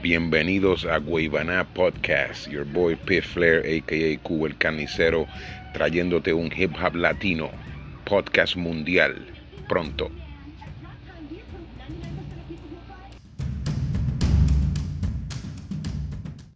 Bienvenidos a Guaybaná Podcast. Your boy Pit Flair, a.k.a. Cuba el Carnicero, trayéndote un hip hop latino. Podcast mundial. Pronto.